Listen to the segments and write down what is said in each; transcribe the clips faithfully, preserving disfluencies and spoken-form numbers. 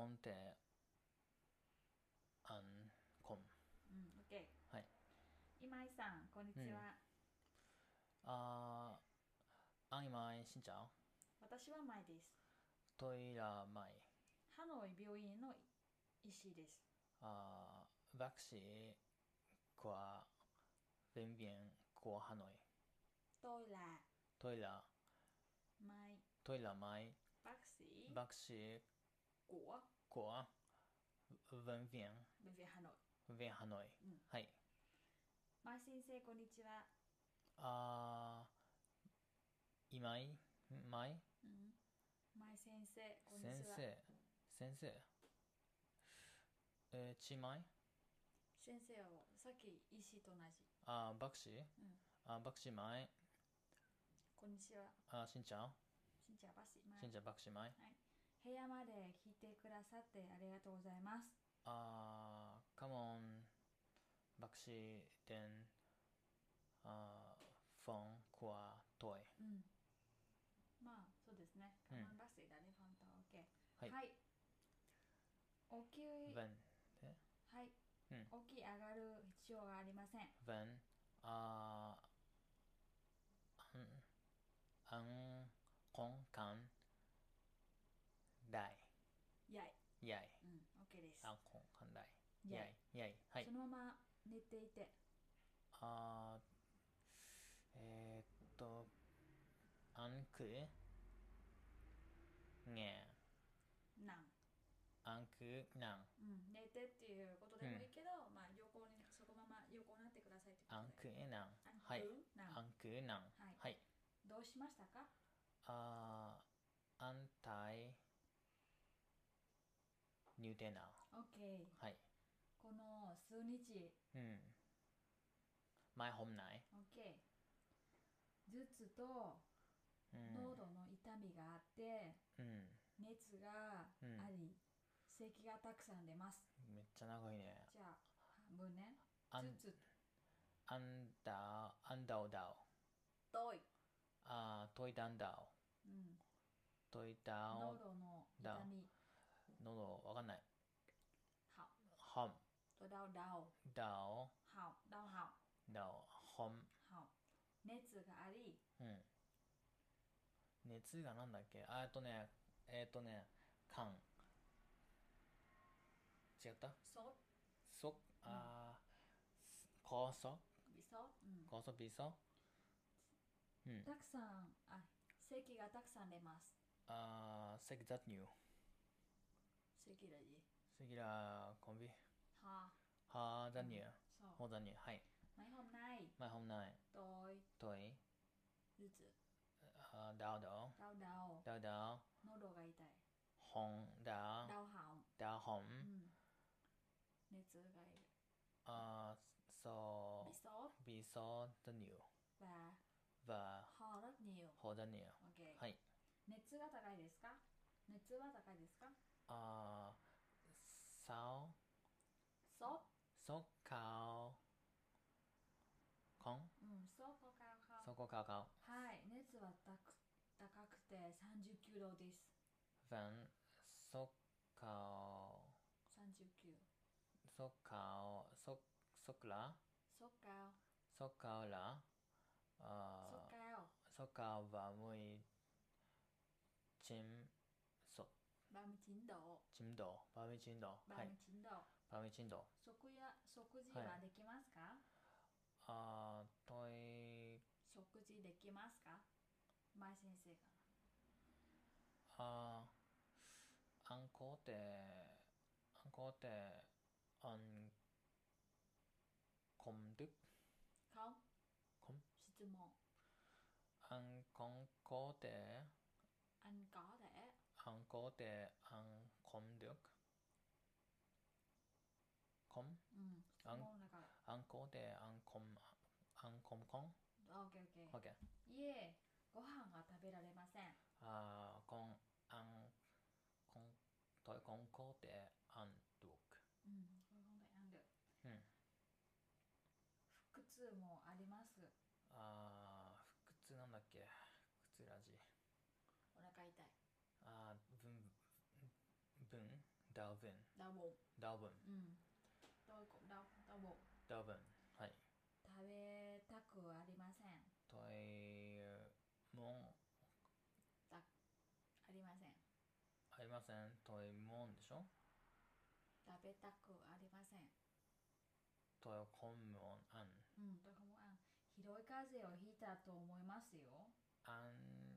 コンってアンコン。 うん、OK。 はい。 今井さん、こんにちは。 あー、アンイマイ、しんちゃん。 私は舞です。 トイラマイ。 ハノイ病院の医師です。 あー、バクシー、qua bệnh viện của Hà Nội. Tôi là Tôi là Mai, tôi là Mai, bác sĩ bác sĩ của của bệnh viện bệnh viện Hà Nội. bệnh viện Hà Nội. うん。 はい。 Mai 先生、こんにちは。 あー、今井、マイ、 うん。Mai 先生、こんにちは。 先生、先生、えー、ちまい、 先生はさっき医師と同じ。 あー、バクシー、 うん。 あー、バクシーマイ、 こんにちは。 あー、しんちゃん、 しんちゃん、バシ、マイ。 しんちゃん、バクシーマイ。 はい。部屋まで来てくださってありがとうございます。 あー、come on, バクシー、then, あー、フォン、コア、トイ。 うん。まあ、そうですね。 うん。 カマンバスイだね、ファンタオーケはい。 ー。はい。大きい、 分、えはい。 うん。 大きい上がる必要がありません。 分、あー、あん、こん、かん、だい、 やい。 やい。 うん、OK です。 あん、こん、かん、だい。 やい。 やい、やい。はい。 そのまま寝ていて。 あー、えー、っと、あんく、ねなん。 あんく、なん。 うん、寝てっていうことうん。 でもいいけど、まあ、横に、そのまま横になってくださいってことで。 あんく、なん。 あんはい。 くなん。 あんく、なん。 はい。 はい。 どうしましたか？ あー、あんたい、入店な。 OK。 はい。 この数日。 うん。前、hôm nay。 OK。頭痛とうん。 喉の痛みがあって、 うん。 熱がうん。 あり、咳がたくさん出ます。 めっちゃ長いね。 じゃあ、半分ね。 あん、 頭痛あんだ、あんだおだお。 とい。 あー、といたんだお。 うん。 といたお喉の痛だ。 み。 喉、わかんない。 は。 ほん、 とだうだう。 だお、 はう。だうはだお、ほん。 う。はう。熱があり、 うん。熱がなんだっけあーっとね、えーっとね、かん。違ったそ、 そ、 うん。 あー、こそびそ、うん。 こそびそうん。 たくさん、あ、咳がたくさん出ます。 あー、咳雑乳。 咳だじ。 咳là con vi. は、 Ho う rất ん。 nhiều. そう。 Ho rất nhiều. Hay. Mấy hôm nay Mai hôm nay tôi tôi 頭痛、 uh, đau đổ đau đầu、 đau đổ 喉が痛い、 họng đau đau họng、 đau う họng ん、熱がいる、 uh, so bị sốt bị sốt rất nhiều và và ho rất nhiều. ho rất nhiều. OK。 はい。 熱が高いですか？熱は高いですか？ uh, sáu そう sốt cao không うん、そうかかか。 sốt có cao không はい、熱は高く高くてさんじゅうきゅうどです。 vẫn sốt cao さんじゅうきゅう。 sốt cao sốt sốt là そうか sốt cao là そう uh, か sốt cao và mười chín sốt バムチンド chín độ ba mươi chín độ バはいムチンド。 ba mươi chín độ 食や食事はいはできますか？ あートイ食事できますか？前先生かあーアンコってアンコってアンコンドゥな。顔コン質問。 アンコンコって Anh có thể アンコってアンコンドゥコンうん、質アン問だから。 アンコってアンコンアンコンコン OKOK。 OK いえ、ご飯が食べられません。 あーコンアンコントイコンコってアンドゥクうん、これ本当にある。 うん腹痛もあります。 あー腹痛なんだっけ腹痛ラジお腹痛い。 あー分分 đau bụng đau bụng. đau bụng Ừ. Tôi cũng đau đau bụng. đau bụng はい。 食べたくありません。 トイモンたありません。 ありません。トイモンでしょ。 食べたくありません。 トイコンモンアンうん、とかもあんひどい風邪をひいたと思いますよ。 アン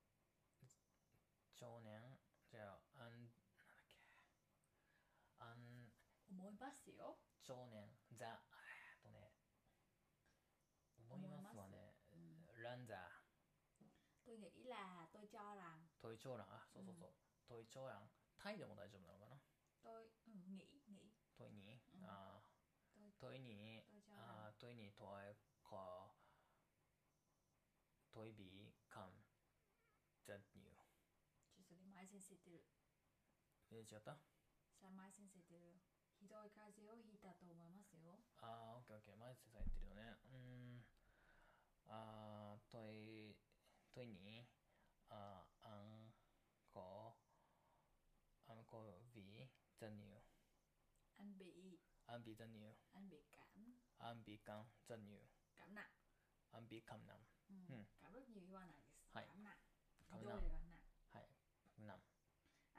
少年じゃあアンなんだっけアン思いますよ。 少年ザえっとね思いますわね。ランザ Tôi nghĩ là tôi cho rằng トイチョウランあそうそうそう、トイチョウランタイでも大丈夫なのかな。 tôi ừ, nghĩ nghĩ トイに、 うんあ tôi トイにトイチョウランあトイにトイコトイビカンザニューちょそれ前先生言ってる。 えー、違った。 さ前先生言ってるよ。ひどい風邪をひいたと思いますよ。 あーオッケーオッケー前先生言ってるよね。うーんあートイトイにあアンコアンコビザニュー Anh bị アンビザニュー anh bị cảm アンビカンザニュー cảm nặng. アンビカンナム Ừ. Ừ. Cảm rất nhiều yêu này. Hay. Cảm nặng. Cảm Đôi nặng. là cảm nặng. はいナム明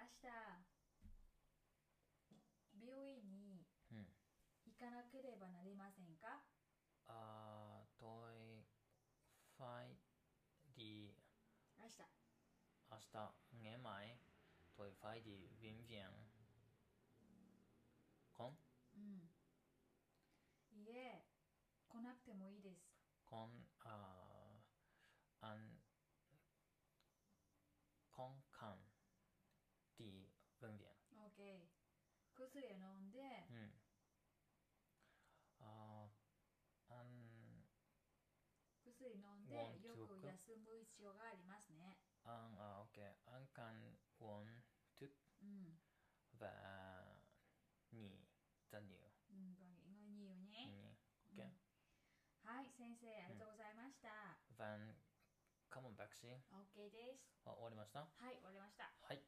日病院にうん行かなければなりませんか。 あートイファイディ明日明日 nghe mày tôi phải đi bệnh viện con うんいえ来なくてもいいです。 con à, ăn con can đi bệnh viện OK 薬を飲んで、 うんあー ăn 薬飲んで Want よ to く cook? 休む必要がありますね。 ăn à, ok ăn can uống thuốc うん và nghỉ rất nhiều うんごめんごめんいいよね。 nghỉ ok はい先生ありがとうございました。 và cảm ơn bác sĩ OK です。 あ終わりました。 はい終わりました。 はい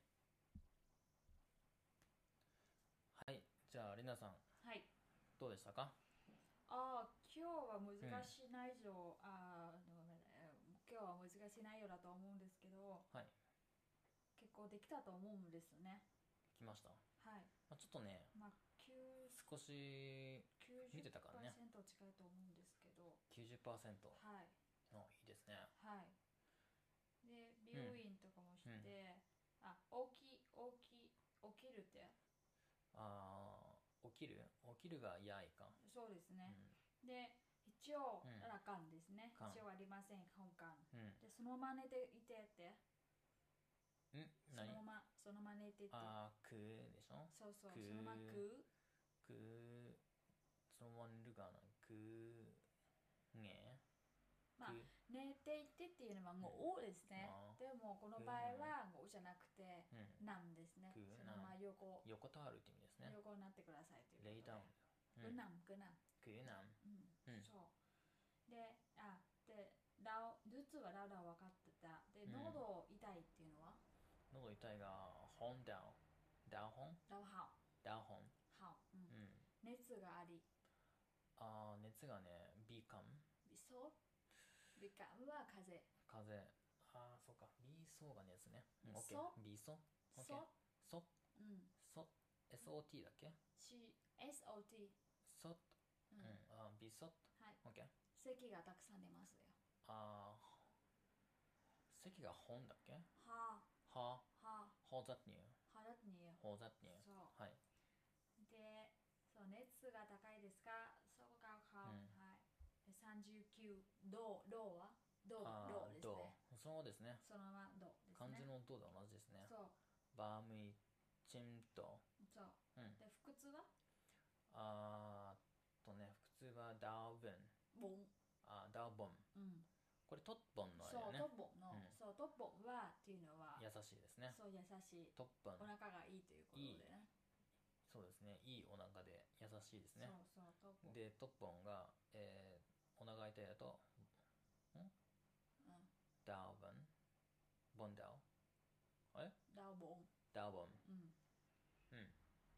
はいじゃありなさんはいどうでしたか。 ああ今日は難しい内容、あーごめんえー今日は難しい内容だと思うんですけどはい結構できたと思うんですね。 来ました。 はいまあ、ちょっとねまあきゅう少し見てたからねきゅうじゅっパーセント近いと思うんですけどきゅうじゅっパーセントはいのいいですね。 はいで病院とかもして、 うんあ起き起き起きるってあー起きる起きるがやいか。 そうですうね、 んで一応うんらかんですね、 かん一応ありません本館うんでそのまま寝ていてってんその何ままそのまま寝ていてあーくでしょ。 そうそうくそのままくくそのまま寝るがなくねまあく寝ていてっていうのはもう「お」ですね、 あーでもこの場合は「お」じゃなくてうん 「なん」ですね、 くそのまま横横たわるって意味ですね。 横になってくださいということでレイダウンぐなんぐなんくなんうん、 うんそうであでラオ頭痛はラウダウ分かってたで、 うん喉痛いっていうのは喉痛いが本ダウダウ本ラウハダウ本ウハウ、うんうん熱がありあー熱がねビーカムビソビカムは風邪風邪あーそうかビーソーが熱ねうんオッケそービーソオッケーソソうんソ エスオーティー だっけ C S O T ソうん、 うんあービーソはいオッケー咳がたくさん出ますよ。 あー席が本だっけははあはほざっにゅうあ腹によほざっにゅうそうはいでそう熱が高いですかそうかか、 うんはいでさんじゅうきゅうどうどうはどうあどうですーどねうそうですねそのままどうですね漢字のどうで同じですねそうバームイチンとそううんで腹痛はあーとね腹痛はダウブンボンあーダウボンうんこれトッポンのあれそうだよねトッポンの、 うんそうトッポンはっていうのは優しいですねそう優しいトッポンお腹がいいということでねそうですねいいお腹で優しいですねそうそうトッポンでトッポンが、えー、お腹痛いだとんうんダウボンボンダウあれダウボンダウボンうんうん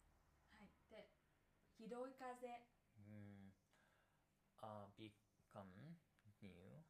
ひどい風。 うん。あ、become new。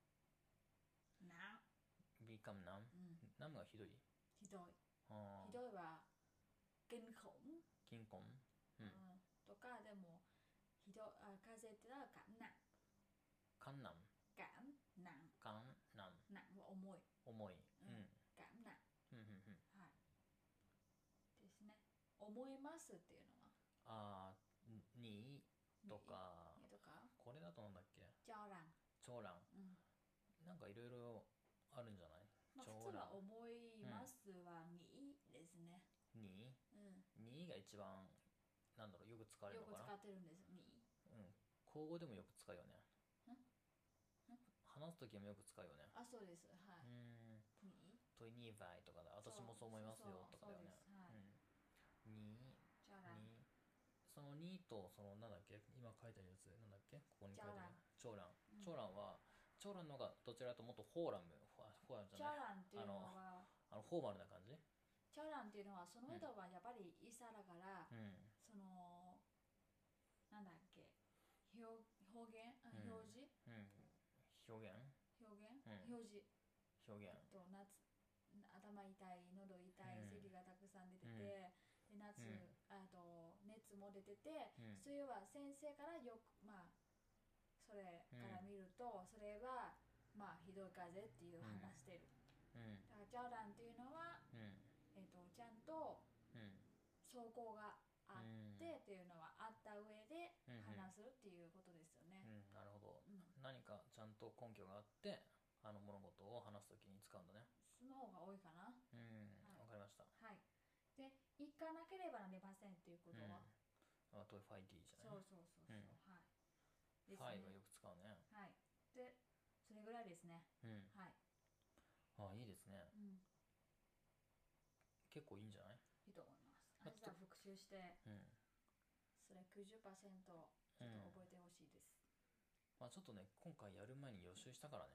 な。 become numb。 うん。 numb がひどい。 ひどい。 あひどいは、kinh khủng。 金婚。うん。 うん、とか、でも、ひどい、あ、風邪ってのは感難。 感難。 感難。 感難。 難は重い。 重い。 ううん。 感難。 うんうんうん。 はい。ですね。思いますっていうのは、 あー、にとか、 にとか、 これだとなんだっけ、 長蘭。 長蘭。 うん。 なんかいろいろあるんじゃない？ まあ、普長蘭。 通は思いますはにですね。 にうん。 にが一番、なんだろう、よく使われるよくのかな。 使ってるんです、に。 うん。口語でもよく使うよね。 んん話すときもよく使うよね。 あ、そうです。はうーい。 ん。 にとにばいとかだ。私もそう思いますよとかだよね。 そうです。はい。 うん。に、 長蘭。 に、そのにと、そのなんだっけ、今書いてあるやつ、なんだっけ、ここに書いてある。長蘭。長蘭は、長蘭の方がどちらかというともっとフォーラム、フォフォーラムじゃない。 長蘭っていうのは、 あの、フォーマルな感じ。 長蘭っていうのは、その人はやっぱりイサだから、 うん。 その、なんだっけ、表表現、あうん表示うん。表現表現、 うん表示。 表現。 と夏頭痛い、喉痛い、 うん咳がたくさん出てて、 うんで夏、 うんあと熱も出てて、 うんそれは先生からよく、まあそれから見ると、それはまあひどい風邪っていう話してる。 うん。 だからジャーランっていうのは、 うん。 えっとちゃんとうん。 証拠があってっていうのはあった上でうん話すっていうことですよね。 うん。なるほど。 うん。 何かちゃんと根拠があって、あの物事を話すときに使うんだね。 その方が多いかな。 うん。 はいわかりました。 はい。で、行かなければなりませんっていうことは、 あとファイティーじゃない。 そうそうそうそう、 うんはい。ですファイね。 はよく使うね。 はい。で、それぐらいですね。 うん。 はい。 あ、いいですね。 うん。 結構いいんじゃない？ いいと思います。 まあ明日復習して、 うん。 それきゅうじゅっパーセントちょっと覚えてほしいです。 まあちょっとね、今回やる前に予習したからね。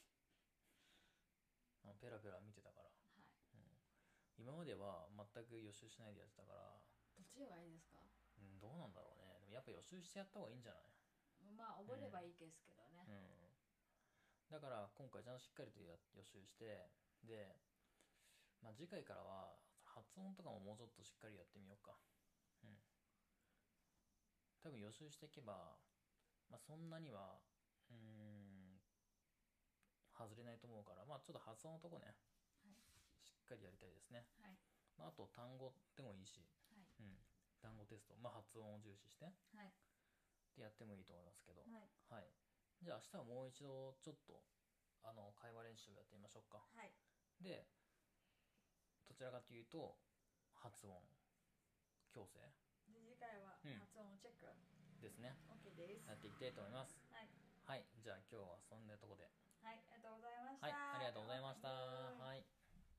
あペラペラ見てたから。 はい。 うん。今までは全く予習しないでやってたから、 どっちがいいですか？ うん、どうなんだろうね。でもやっぱ予習してやった方がいいんじゃない？ まあ、覚えればいいですけどね。 うん。だから今回ちゃんとしっかりとや予習して、で、まあ次回からは発音とかももうちょっとしっかりやってみようか。うん。多分予習していけば、まあそんなには、うーん、外れないと思うから、まあちょっと発音のとこね、 はい。 しっかりやりたいですね。 はい。 まああと単語でもいいし、 はい。 うん。単語テスト、まあ発音を重視して、 はい。 でやってもいいと思いますけど、 はい。 はい。じゃあ明日はもう一度ちょっと、あの、会話練習をやってみましょうか。 はい。 で、どちらかというと、発音、矯正で、次回はうん発音チェック。 ですね。 OK です。 やっていきたいと思います。 はい。 はい。じゃあ今日はそんなとこで。 はい、ありがとうございました。 はい。ありがとうございました。 はい。 はい。はい、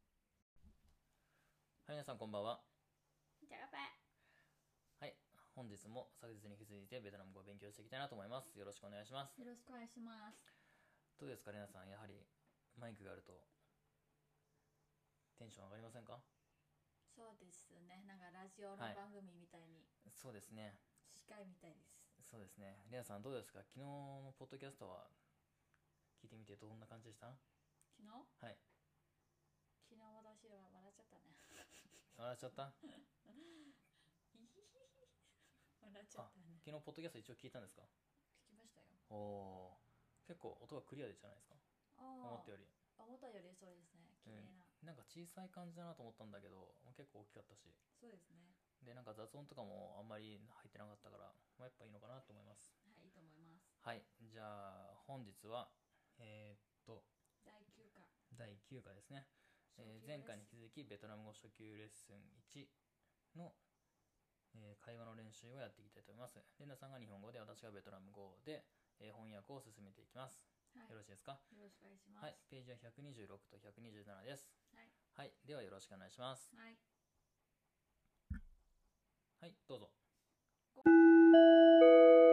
皆さんこんばんは。 じゃあ、乾杯。 はい。本日も昨日に引き続いてベトナム語を勉強していきたいなと思います。よろしくお願いします。 よろしくお願いします。 どうですか、皆さん。やはりマイクがあるとテンション上がりませんか？ そうですね。なんかラジオの番組みたいに、 そうですね。 司会みたいです。 そうですね。皆さんどうですか？昨日のポッドキャストは聞いてみてどんな感じでした？ 昨日はい。 昨日私は笑っちゃったね。 笑っちゃった？ 笑っちゃあったね。 昨日ポッドキャスト一応聞いたんですか？ 聞きましたよ。 おおー、結構音がクリアでじゃないですか？思ったより。 思ったよりそうですね。綺麗な、 うん、なんか小さい感じだなと思ったんだけど結構大きかったし、 そうですね。 でなんか雑音とかもあんまり入ってなかったから、まあ、やっぱいいのかなと思います。 はい、いいと思います。 はい。じゃあ本日はえー、っとだいきゅうかだいきゅうかですね。えー前回に引き続きベトナム語初級レッスンいちの、えー会話の練習をやっていきたいと思います。レナさんが日本語で、私がベトナム語で、えー翻訳を進めていきます。 はい、 よろしいですか？ よろしくお願いします。 はい。ページはひゃくにじゅうろくとひゃくにじゅうななです。 はい。 はい。ではよろしくお願いします。 はい。 はい、どうぞ。